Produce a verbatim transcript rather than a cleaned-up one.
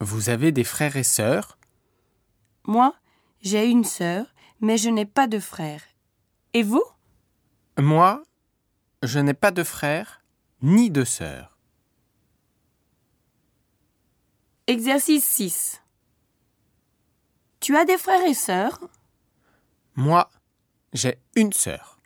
Vous avez des frères et sœurs? Moi, j'ai une sœur, mais je n'ai pas de frère. Et vous? Moi, je n'ai pas de frère ni de sœur. Exercice six. Tu as des frères et sœurs? Moi, j'ai une sœur.